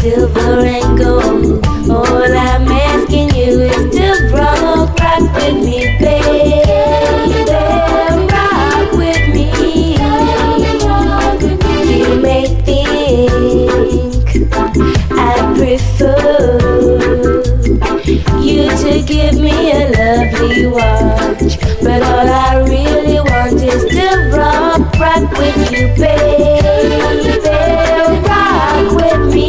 silver and gold. All I'm asking you is to rock with me, baby. Rock with me. You may think I prefer you to give me a lovely watch, but all I really want is to rock with you, baby. Rock with me.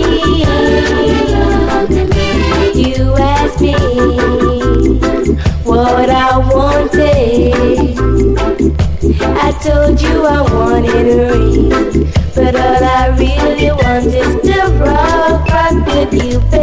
You asked me what I wanted. I told you I wanted a ring, but all I really want is to rock with you, baby.